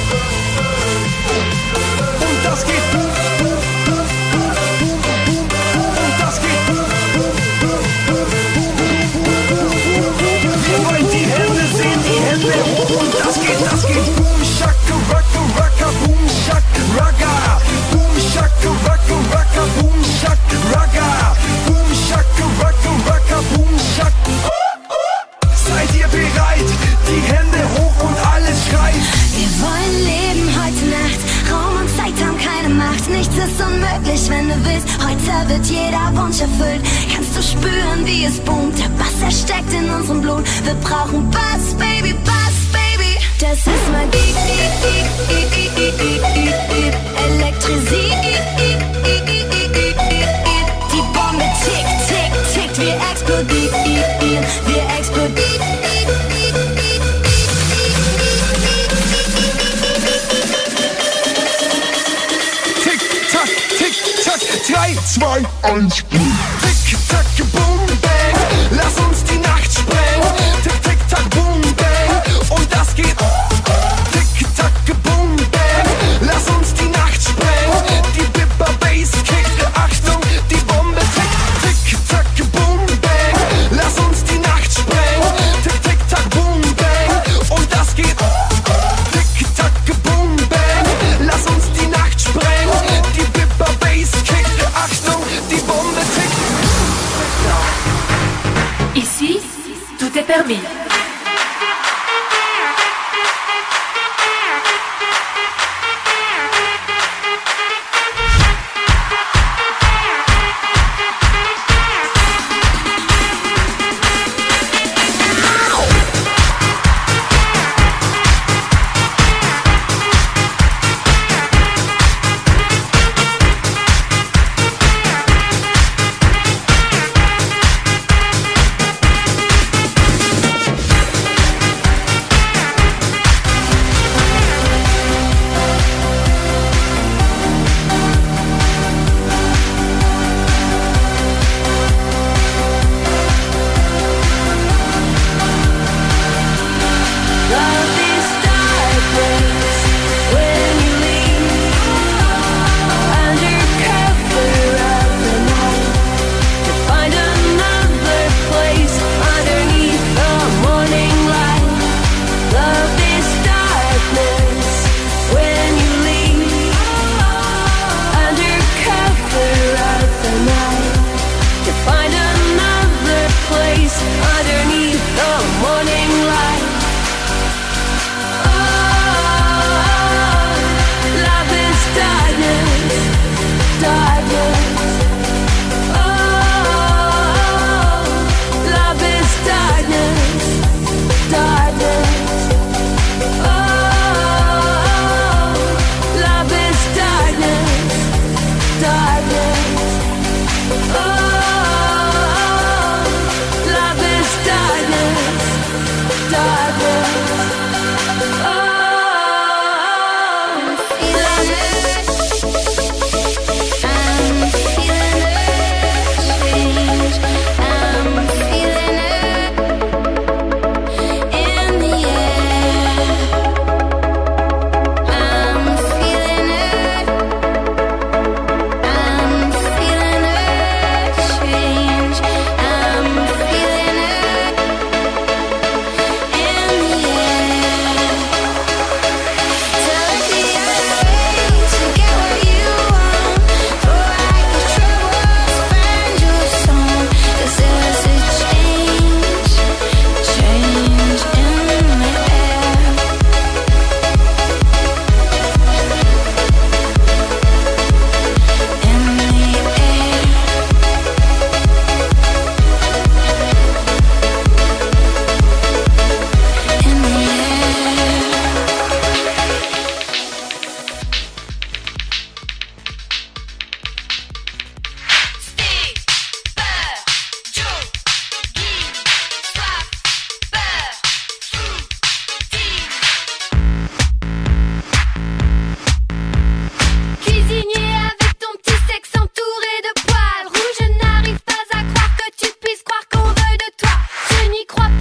Und das geht boom, boom, boom, boom, boom, boom, boom. Und das geht boom, boom, boom, boom, boom, boom, boom, boom. Wir wollen die Hände sehen, die Hände hoch. Und das geht boom, shaka, rocka, rocka, boom, shaka, rocka. Boom, shaka, rocka, rocka, boom, shaka, rocka. Boom, shaka, rocka, rocka, boom, shaka. Seid ihr bereit? Die Hände hoch und alles schreit. Wir wollen leben heute Nacht. Raum und Zeit haben keine Macht. Nichts ist unmöglich, wenn du willst. Heute wird jeder Wunsch erfüllt. Kannst du spüren, wie es boomt? Der Bass, er steckt in unserem Blut. Wir brauchen Bass, Baby, Bass, Baby. Das ist Magie. Elektrisiert. Die Bombe tickt, tickt, tickt. Wir explodieren. Wir explodieren. Tick, tack, 3, 2, 1, boom. Tick, tack, boom, bang. Lass uns die Nacht sprengen. Tick, tick, tack, boom, bang. Und das geht. Tick, tack, boom, bang. Lass uns die Nacht sprengen. Die Bipper Bass kickt. Achtung, die Bombe tickt. Tick, tack, boom, bang. Lass uns die Nacht sprengen. Tick, tick, tack, boom, bang. Und das geht. Tick, tack, boom, bang. Lass uns die Nacht sprengen. Die Bipper Bass kickt. Achtung, die Bombe tickt. Ici, tout est permis.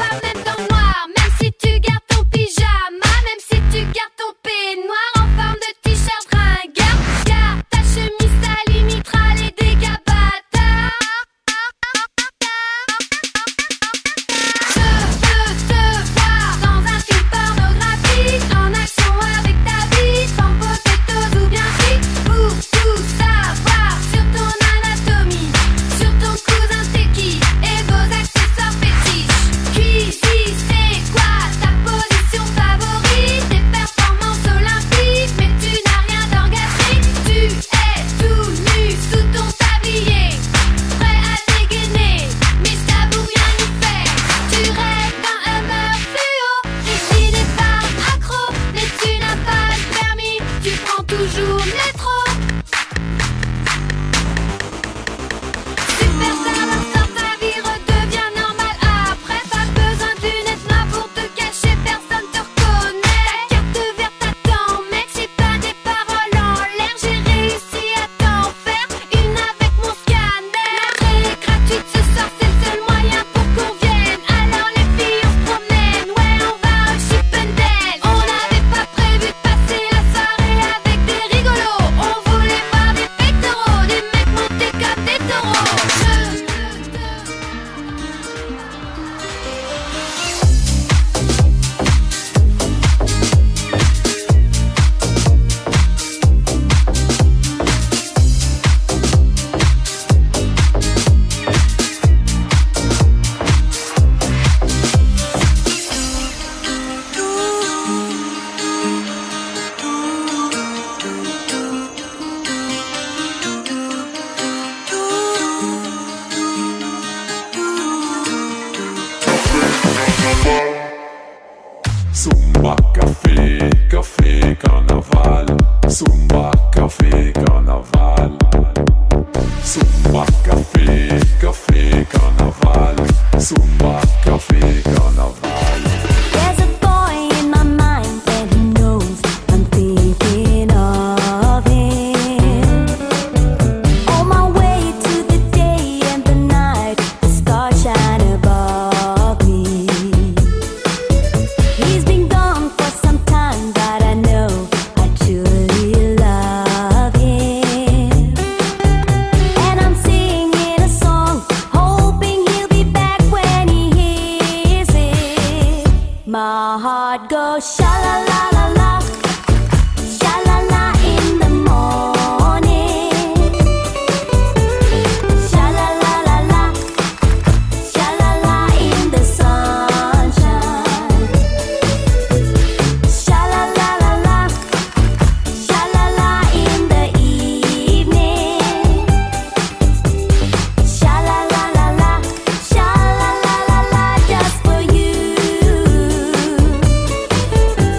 Zumba, café, café, carnaval. Zumba, café, carnaval. Zumba, café, café, carnaval. Zumba, café, carnaval. There's a boy in my mind that he knows I'm thinking of him. On my way to the day and the night, the stars shine above me. He's been gone for some time, but I know I truly love him. And I'm singing a song, hoping he'll be back when he hears it. My heart goes sha la la la la, sha la la in the morning, sha la la la la, sha la la in the sunshine, sha la la la la, sha la la in the evening, sha la la la la, sha la la la la, just for you.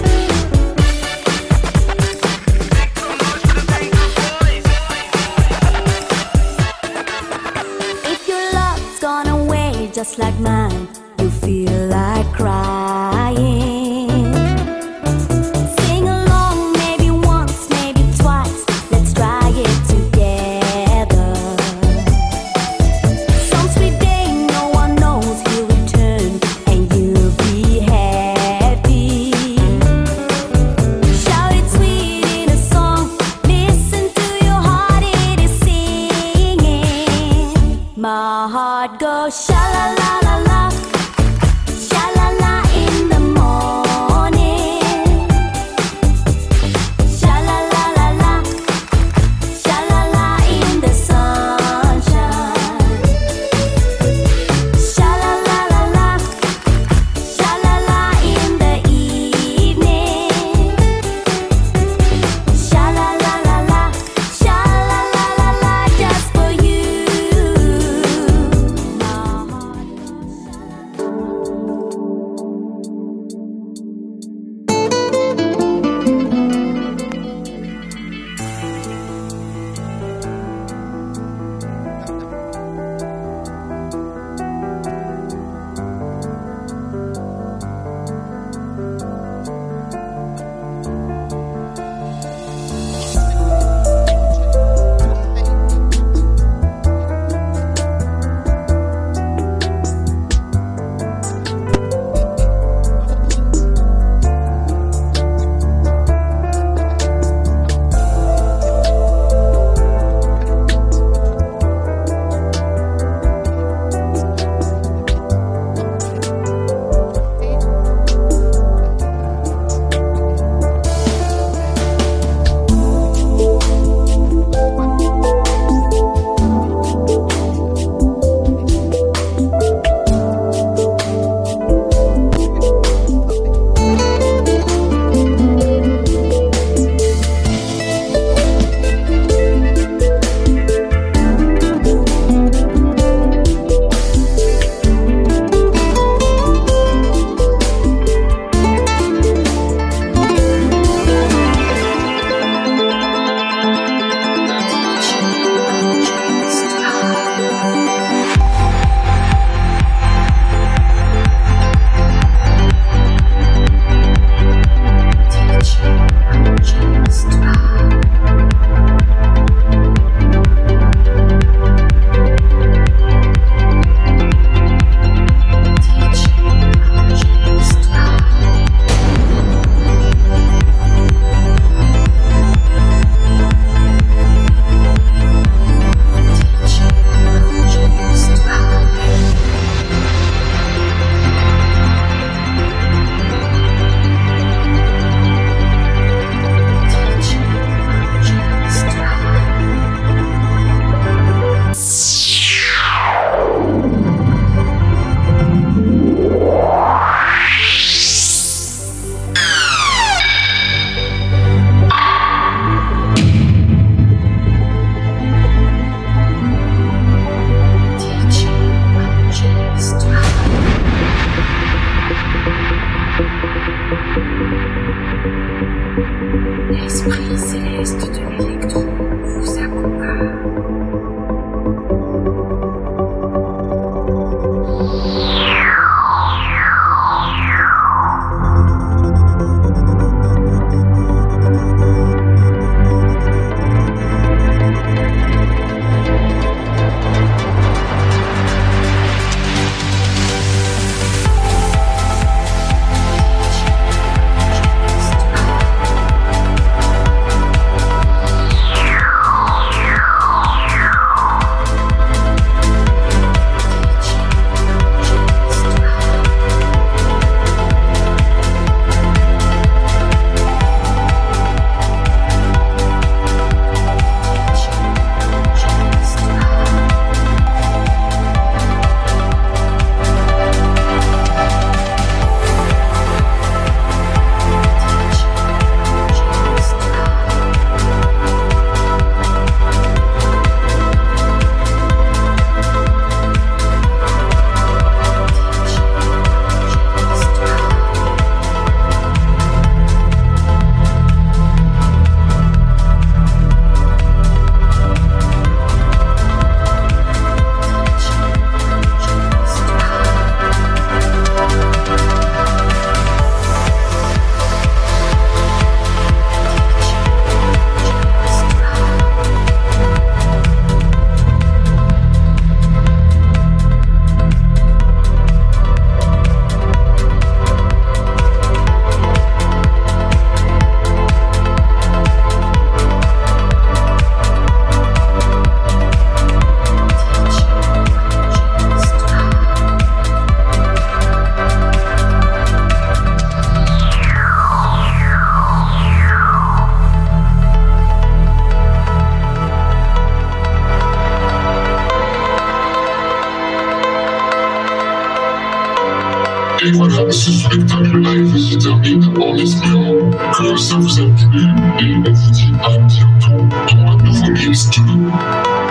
Et voilà, ce spectacle live se termine en espérant que ça vous a plu et on vous dit à bientôt dans un nouveau mix de